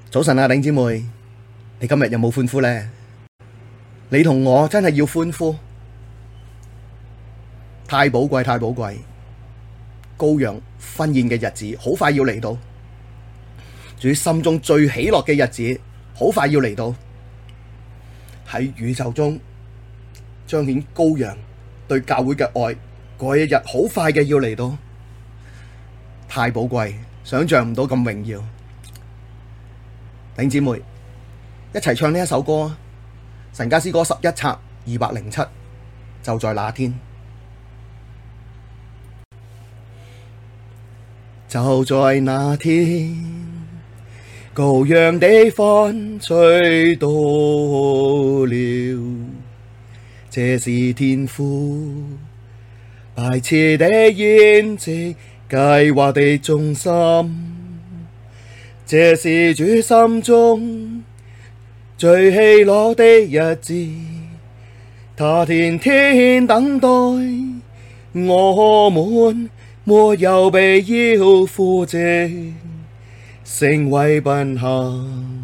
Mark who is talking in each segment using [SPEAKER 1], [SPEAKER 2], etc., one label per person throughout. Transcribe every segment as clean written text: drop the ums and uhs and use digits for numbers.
[SPEAKER 1] 早晨啊，頂姊妹，你今日有冇歡呼呢？你同我真係要歡呼，太寶貴，太寶貴！羔羊婚宴嘅日子好快要嚟到，主心中最喜樂嘅日子好快要嚟到，喺宇宙中彰顯羔羊對教會嘅愛，嗰一日好快嘅要嚟到，太寶貴，想象唔到咁榮耀。弟兄姊妹，一齊唱呢一首歌啊！神家詩歌11冊207，就在那天，就在那天，羔羊的婚娶到了，這是天父擺設的筵席，計劃的中心。這是主心中最喜樂的日子，他天天等待我們，沒有被要父藉，成為賓客，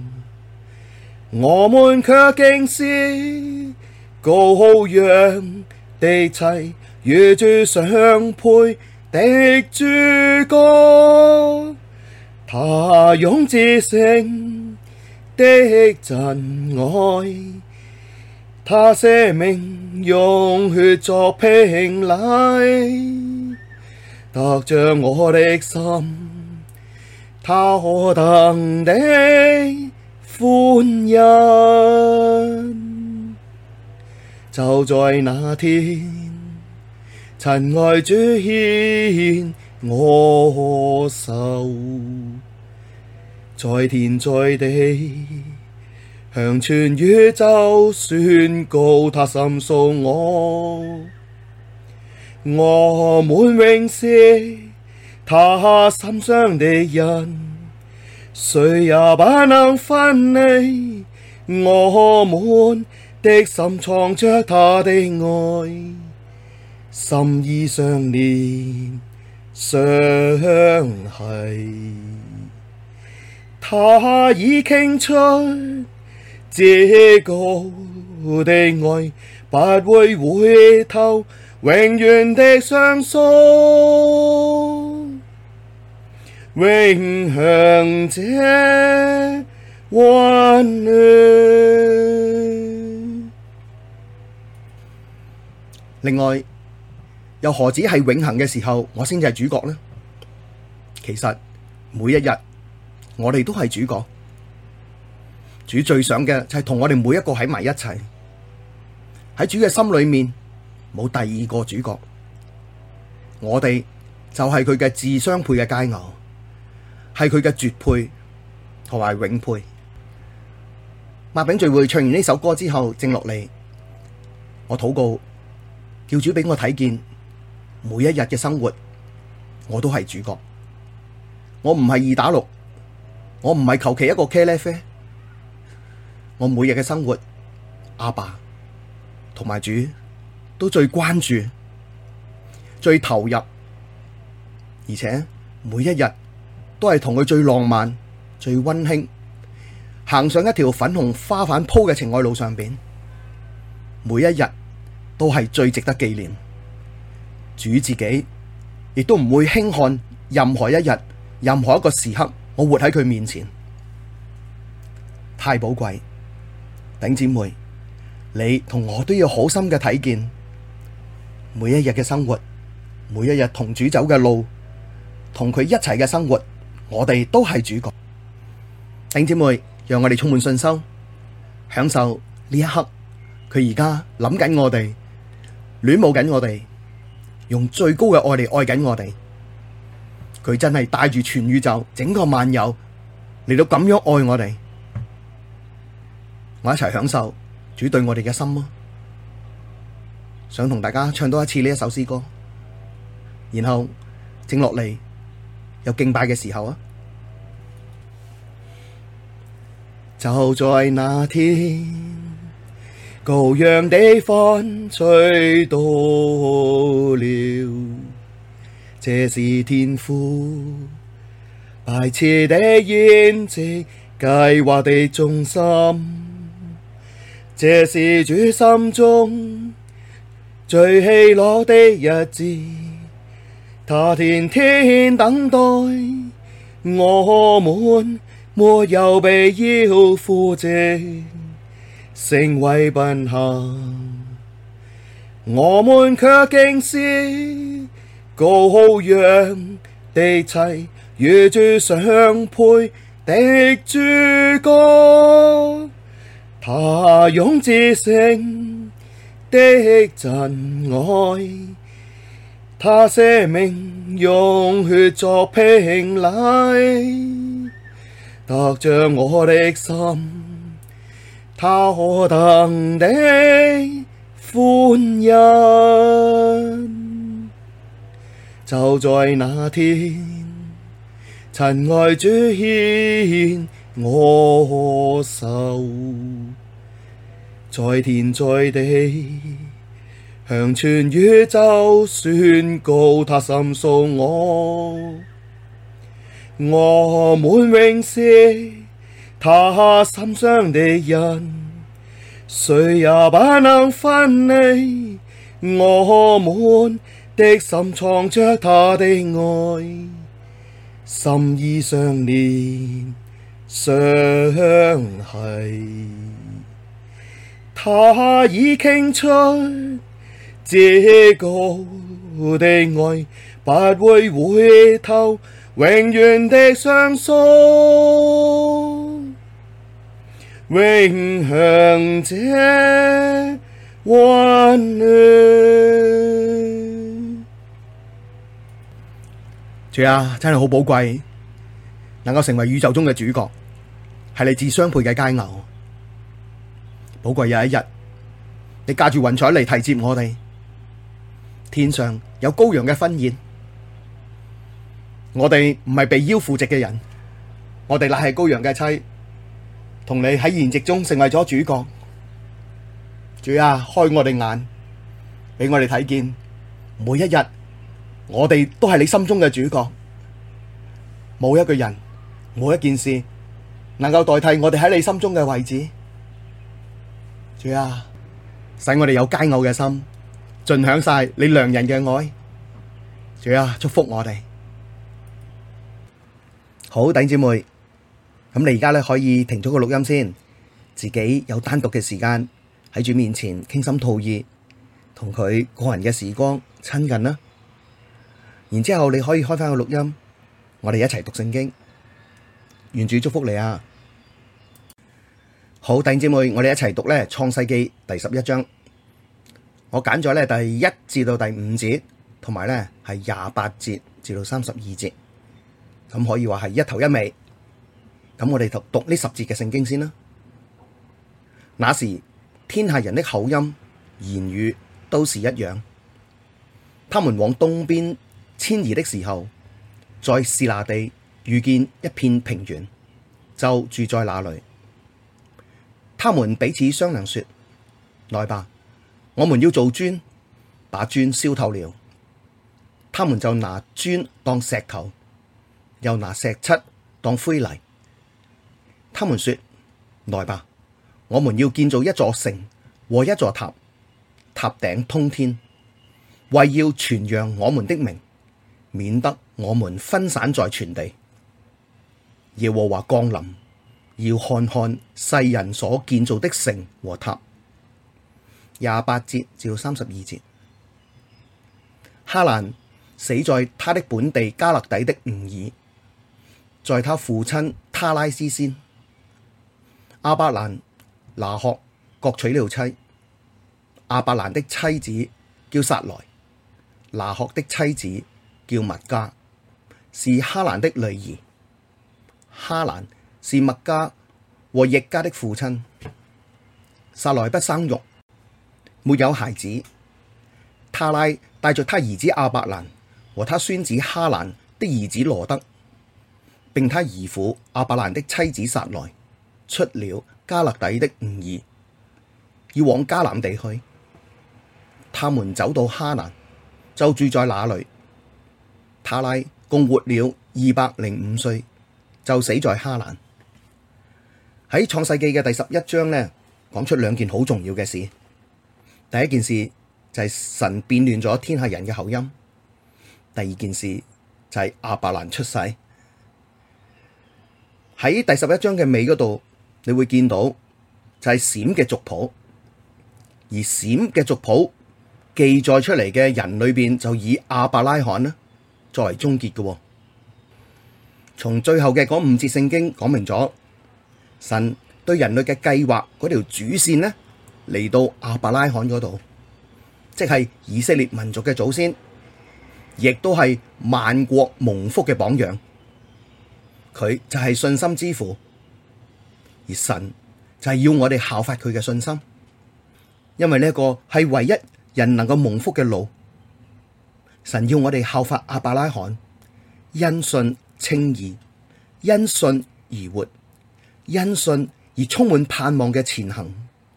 [SPEAKER 1] 我們卻竟是羔羊的妻，與主相配的主角。他用至聖的真愛，他捨命用血作聘禮，得着我的心，他何等的歡欣！就在那天，親愛主牽我手，在天在地，向全宇宙宣告他深屬我，我們永是他心上的人，誰也不能分離，我們的心藏着他的愛，心意相連相繫，他已傾出至高的愛，不會回頭，永遠的相屬，永享這溫暖。另外，又何止係永恆嘅時候，我先至係主角呢？其實每一日我哋都係主角，主最想嘅就係同我哋每一個喺埋一齊，喺主嘅心裏面冇第二個主角，我哋就係佢嘅至相配嘅佳偶，係佢嘅絕配同埋永配。擘餅聚會唱完呢首歌之後，靜落嚟，我禱告，叫主俾我睇見每一日嘅生活，我都係主角，我唔係二打六，我唔係求其一個茄喱啡，我每日嘅生活，阿爸同埋主都最關注、最投入，而且每一日都係同佢最浪漫、最溫馨，行上一條粉紅花瓣鋪嘅情愛路上邊，每一日都係最值得紀念。主自己亦都唔會輕看任何一日、任何一個時刻，我活喺佢面前，太寶貴。頂姊妹，你同我都要好深嘅睇見，每一日嘅生活，每一日同主走嘅路，同佢一齊嘅生活，我哋都係主角。頂姊妹，讓我哋充滿信心，享受呢一刻，佢而家諗緊我哋，戀慕緊我哋，用最高嘅愛嚟愛緊我哋。佢真係帶住全宇宙整個萬有嚟到咁樣愛我哋，我一齊享受主對我哋嘅心啊！想同大家唱多一次呢一首詩歌，然後靜落嚟有敬拜嘅時候啊！就在那天，羔羊的婚娶到了，這是天父擺設的筵席， 計劃的中心。這是主心中最喜樂的日子，他天天等待我們，沒有被要父職成為賓客，我們卻竟是羔羊的妻，與主相配的主角。他用至聖的真愛，他捨命用血作聘禮，得着我的心，他何等的歡欣。就在那天，親愛主牽我手，在天在地向全宇宙宣告他深屬我，我們永是他心上的人，誰也不能分離，我們的心藏着他的愛，心意相連相繫，他已傾出至高的愛，不會回頭，永遠的相屬，永享這溫暖。主啊，真係好寶貴，能夠成為宇宙中嘅主角，係你至相配嘅佳偶。寶貴有一日，你駕住雲彩嚟提接我哋，天上有羔羊嘅婚宴，我哋唔係被邀赴席嘅人，我哋乃係羔羊嘅妻，同你喺筵席中成為咗主角。主啊，開我哋眼，俾我哋睇見每一日，我哋都係你心中嘅主角，冇一個人，冇一件事能夠代替我哋喺你心中嘅位置。主啊，使我哋有佳偶嘅心，盡享晒你良人嘅愛。主啊，祝福我哋。好，弟兄姊妹，咁你而家咧可以停咗個錄音先，自己有單獨嘅時間喺主面前傾心吐意，同佢個人嘅時光親近啦。然之後你可以開翻個錄音，我哋一齊讀聖經。願主祝福你啊！好，弟兄姊妹，我哋一齊讀咧創世記第11章。我揀咗咧第1至到第5節，同埋咧係28節至到32節，咁可以話係一頭一尾。咁我哋讀呢10節嘅聖經先啦。那時天下人的口音言語都是一樣，他們往東邊遷移的時候，在示拿地遇見一片平原，就住在那裡。他們彼此商量說：來吧，我們要做磚，把磚燒透了。他們就拿磚當石頭，又拿石漆當灰泥。他們說：來吧，我們要建造一座城和一座塔，塔頂通天，為要傳揚我們的名，免得我們分散在全地。耶和華降臨，要看看世人所建造的城和塔。28節至到32節。哈蘭死在他的本地迦勒底的吾珥，在他父親他拉斯先。亞伯蘭、拿鶴各娶了妻。亞伯蘭的妻子叫撒萊，拿鶴的妻子叫密迦，是哈蘭的女兒。哈蘭是麥加和譯家的父親。撒萊不生育，沒有孩子。他拉帶着他兒子亞伯蘭和他孫子哈蘭的兒子羅得，並他兒婦亞伯蘭的妻子撒萊，出了迦勒底的吾珥，要往迦南地去。他們走到哈蘭，就住在那裡。他拉共活了205歲，就死在哈蘭。 喺創世記嘅第11章呢，講出兩件好重要嘅事。第一件事就係神變亂咗天下人嘅口音。第二件事就係亞伯蘭出世。喺第11章嘅尾嗰度，你會見到就係閃嘅族譜，而閃嘅族譜記載出嚟嘅人裏邊，就以亞伯拉罕呢作為終結嘅。從最後嘅嗰5節聖經講明咗，神對人類嘅計劃嗰條主線呢，嚟到亞伯拉罕嗰度，即係以色列民族嘅祖先，亦都係萬國蒙福嘅榜樣。佢就係信心之父，而神就係要我哋效法佢嘅信心，因為呢一個係唯一人能夠蒙福嘅路。神要我哋效法亞伯拉罕，因信稱義，因信而活，因信而充滿盼望嘅前行。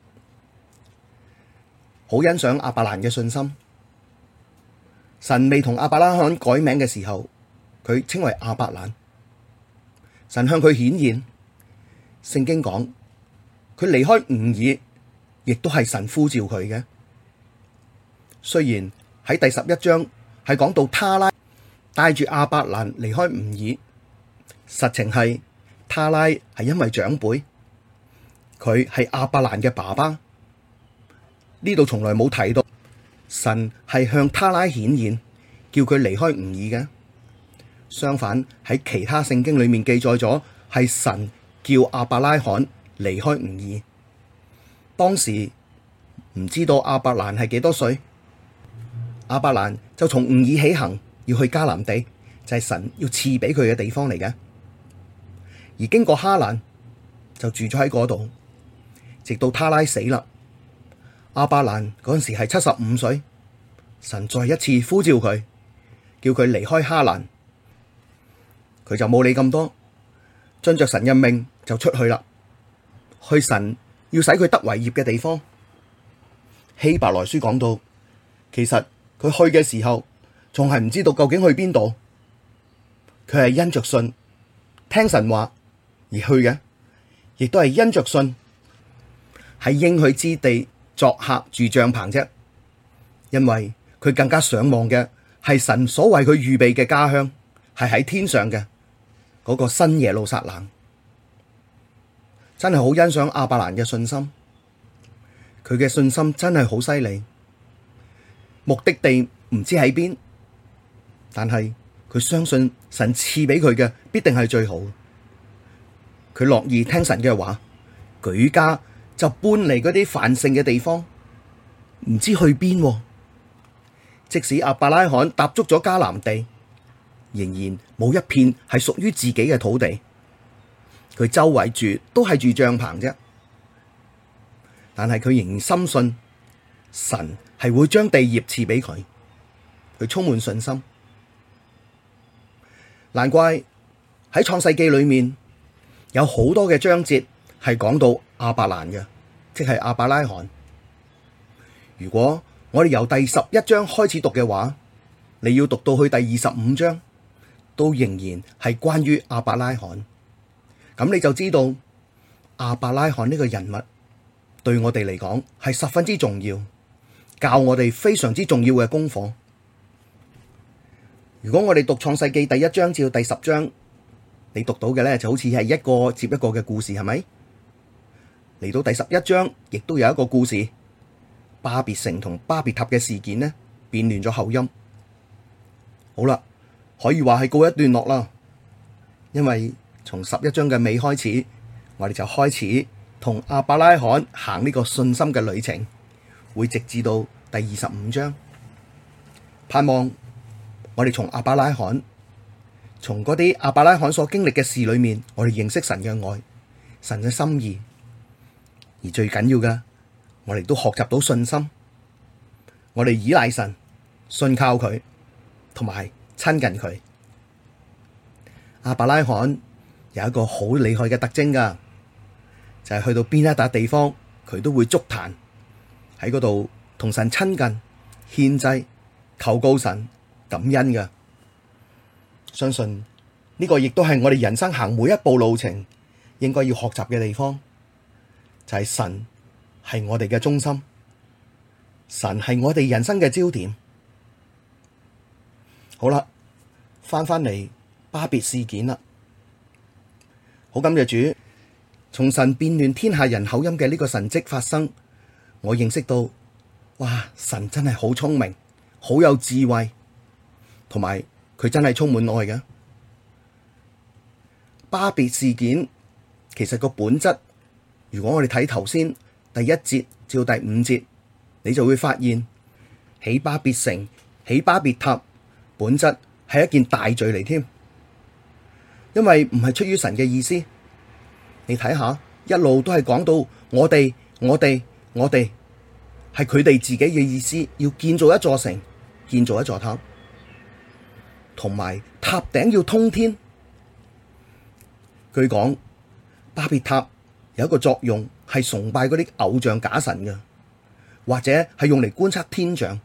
[SPEAKER 1] 好欣賞亞伯蘭嘅信心。神未同亞伯拉罕改名嘅時候，佢稱為亞伯蘭。神向佢顯現，聖經講佢離開吾珥，亦都係神呼召佢嘅。雖然喺第11章係講到他拉帶住亞伯蘭離開吾珥，實情係他拉係因為長輩，佢係亞伯蘭嘅爸爸。呢度從來冇提到神係向他拉顯現，叫佢離開吾珥嘅。相反，喺其他聖經裏面記載咗係神叫亞伯拉罕離開吾珥。當時唔知道亞伯蘭係幾多歲，亞伯蘭就從吾珥起行，要去迦南地，就係神要賜俾佢嘅地方嚟嘅。而經過哈蘭，就住咗喺嗰度，直到他拉死啦。亞伯蘭嗰陣時係75歲，神再一次呼召佢，叫佢離開哈蘭。佢就冇理咁多，遵着神嘅命就出去啦，去神要使佢得為業嘅地方。希伯來書講到，其實佢去嘅時候仲係唔知道究竟去邊度，佢係因着信聽神話而去嘅，亦都係因着信喺應許之地作客住帳篷啫。因為佢更加想望嘅係神所為佢預備嘅家鄉，係喺天上嘅嗰個新耶路撒冷。真係好欣賞亞伯蘭嘅信心，佢嘅信心真係好犀利。目的地唔知喺邊，但係佢相信神賜俾佢嘅必定係最好。佢樂意聽神嘅話，舉家就搬嚟嗰啲繁盛嘅地方，唔知去邊。即使亞伯拉罕踏足咗迦南地，仍然冇一片係屬於自己嘅土地，佢周圍住都係住帳篷啫。但係佢仍然深信神係會將地業賜俾佢，佢充滿信心。難怪喺創世記裏面有好多嘅章節係講到亞伯蘭嘅，即係亞伯拉罕。如果我哋由第11章開始讀嘅話，你要讀到去第25章，都仍然係關於亞伯拉罕。咁你就知道亞伯拉罕呢個人物對我哋嚟講係十分之重要，教我哋非常之重要嘅功課。如果我哋讀創世記第1章至到第10章，你讀到嘅咧就好似係一個接一個嘅故事，係咪？嚟到第11章，亦都有一個故事，巴別城同巴別塔嘅事件呢，變亂咗口音。好啦，可以話係告一段落啦。因為從11章嘅尾開始，我哋就開始同亞伯拉罕行呢個信心嘅旅程，會直至到第25章。盼望我哋從亞伯拉罕，從嗰啲亞伯拉罕所經歷嘅事裏面，我哋認識神嘅愛，神嘅心意。而最緊要嘅，我哋都學習到信心，我哋依賴神，信靠佢，同埋親近佢。亞伯拉罕有一個好厲害嘅特徵噶，就係去到邊一笪地方，佢都會築壇喺嗰度同神親近、獻祭、求告神、感恩噶。相信呢個亦都係我哋人生行每一步路程應該要學習嘅地方。 就係神係我哋嘅中心，神係我哋人生嘅焦點。好啦，翻嚟巴別事件啦，好感謝主，從神變亂天下人口音嘅呢個神蹟發生，我認識到，哇！神真係好聰明，好有智慧，同埋佢真係充滿愛嘅。巴別事件其實個本質，如果我哋睇頭先第1節至到第5節，你就會發現起巴別城、起巴別塔，本質係一件大罪嚟添，因為唔係出於神嘅意思。你睇下，一路都係講到我哋係佢哋自己嘅意思，要建造一座城，建造一座塔，同埋塔頂要通天。據講巴別塔有一個作用係崇拜嗰啲偶像假神嘅，或者係用嚟觀測天象，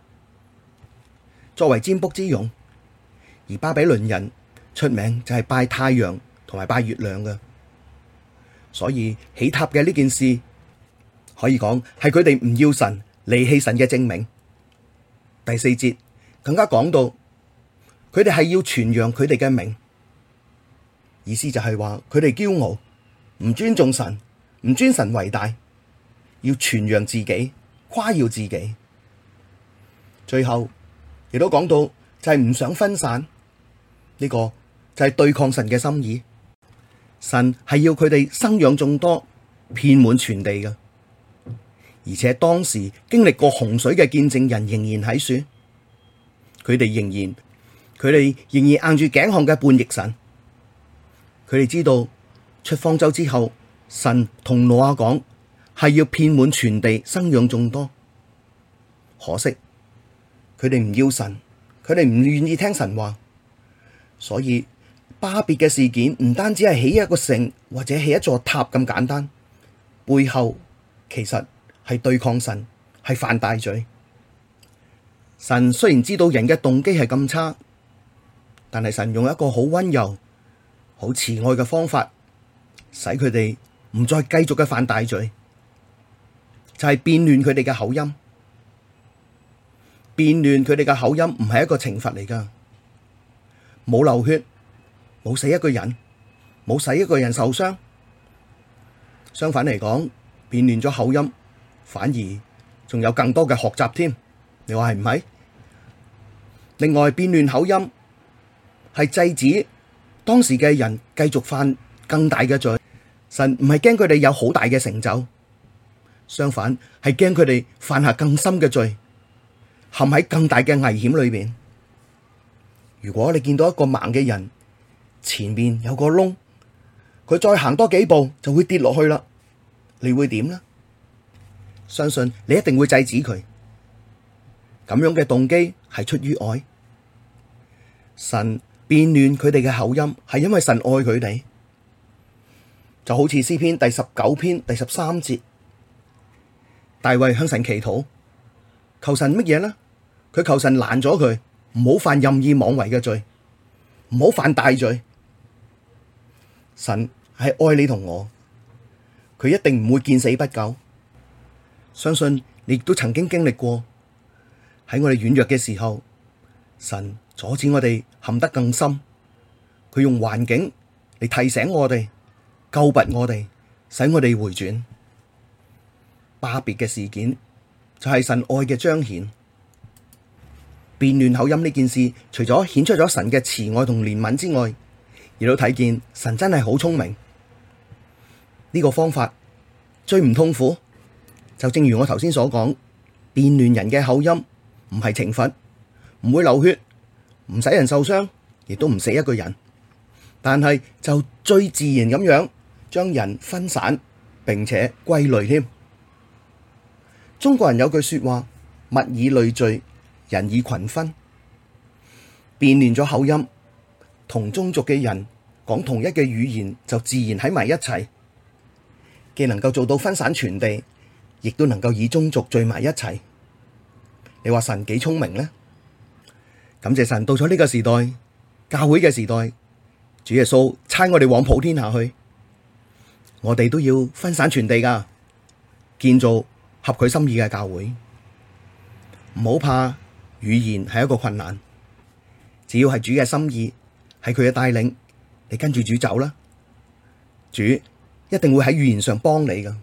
[SPEAKER 1] 作為占卜之用。而巴比倫人出名就係拜太陽同埋拜月亮嘅，所以起塔嘅呢件事可以講係佢哋唔要神、離棄神嘅證明。第4節更加講到佢哋係要傳揚佢哋嘅名，意思就係話佢哋驕傲，唔尊重神，唔尊神為大，要傳揚自己，誇耀自己。最後亦都講到就係唔想分散，呢個就係對抗神嘅心意。神係要佢哋生養眾多，遍滿全地嘅。而且當時經歷過洪水嘅見證人仍然喺書，佢哋仍然硬住頸項嘅叛逆神。佢哋知道出方舟之後，神同挪亞講係要遍滿全地，生養眾多。可惜佢哋唔要神，佢哋唔願意聽神話，所以巴別嘅事件唔單止係起一個城或者起一座塔咁簡單，背後其實係對抗神，係犯大罪。神雖然知道人嘅動機係咁差，但係神用一個好溫柔、好慈愛嘅方法，使佢哋唔再繼續嘅犯大罪，就係變亂佢哋嘅口音。變亂佢哋嘅口音唔係一個懲罰嚟噶，冇流血，冇死一個人，冇使一個人受傷。相反嚟講，變亂咗口音，反而仲有更多嘅學習添。你話係唔係？另外，變亂口音係制止當時嘅人繼續犯更大嘅罪。神唔係驚佢哋有好大嘅成就，相反係驚佢哋犯下更深嘅罪，陷喺更大嘅危險裏邊。如果你見到一個盲嘅人，前面有個窿，佢再行多幾步就會跌落去啦，你會點呢？相信你一定會制止佢。咁樣嘅動機係出於愛。神變亂佢哋嘅口音，係因為神愛佢哋。就好似詩篇第19篇第13節，大衛向神祈禱，求神乜嘢呢？佢求神攔咗佢，唔好犯任意妄為嘅罪，唔好犯大罪。神係愛你同我，佢一定唔會見死不救。相信你亦都曾經經歷過，喺我哋軟弱嘅時候，神阻止我哋陷得更深。佢用環境嚟提醒我哋，救拔我哋，使我哋回轉。巴別嘅事件就係神愛嘅彰顯。變亂口音呢件事，除咗顯出咗神嘅慈愛同憐憫之外，亦都睇見神真係好聰明。呢個方法最唔痛苦，就正如我頭先所講，變亂人嘅口音唔係懲罰，唔會流血，唔使人受傷，亦都唔死一個人，但係就最自然咁樣將人分散，並且歸類添。中國人有句說話，物以類聚，人以群分。變亂咗口音，同宗族嘅人講同一嘅語言，就自然喺埋一齊，既能夠做到分散傳遞，亦都能夠以宗族聚埋一齊。你話神幾聰明呢？感謝神，到咗呢個時代，教會嘅時代，主耶穌差我哋往普天下去，我哋都要分散傳遞噶。 建造合佢心意嘅教會。唔好怕語言係一個困難，只要係主嘅心意，係佢嘅帶領，你跟住主走啦，主一定會喺語言上幫你噶。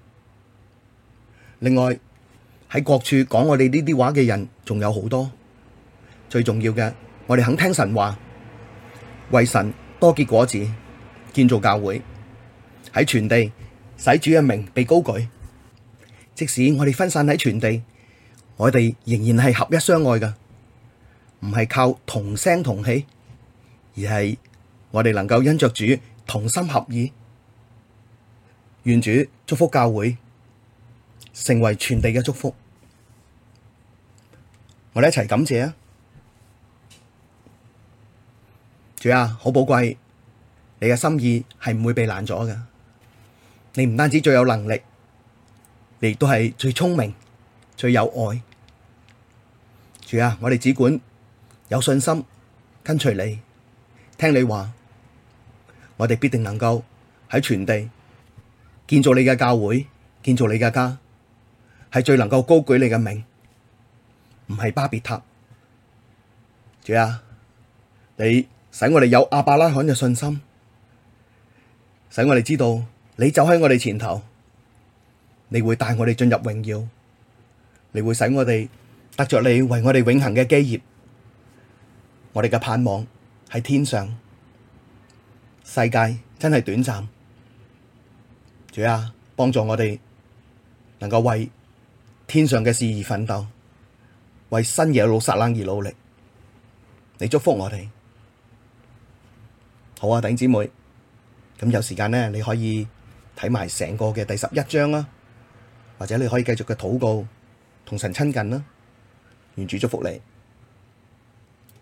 [SPEAKER 1] 另外喺各處講我哋呢啲話嘅人仲有好多，最重要嘅，我哋肯聽神話，為神多結果子，建造教會，喺全地使主嘅名被高舉。即使我哋分散喺全地，我哋仍然係合一相愛噶，唔係靠同聲同氣，而係我哋能夠因着主同心合意。願主祝福教會，成為全地嘅祝福。我哋一齊感謝啊！主啊，好寶貴，你嘅心意係唔會被攔阻嘅。你唔單止最有能力，你亦都係最聰明、最有愛。主啊，我哋只管有信心跟隨你，聽你話，我哋必定能夠喺全地建造你嘅教會，建造你嘅家，係最能夠高舉你嘅名，唔係巴別塔。主啊，你使我哋有亞伯拉罕嘅信心，使我哋知道你走喺我哋前頭，你會帶我哋進入榮耀，你會使我哋得着你為我哋永恆嘅基業。我哋嘅盼望喺天上，世界真係短暫。主啊，幫助我哋能夠為天上嘅事而奮鬥，為新耶路撒冷而努力。你祝福我哋。好啊，弟兄姊妹，咁有時間呢，你可以睇埋成個嘅第11章啦，或者你可以繼續嘅禱告，同神親近啦。願主祝福你。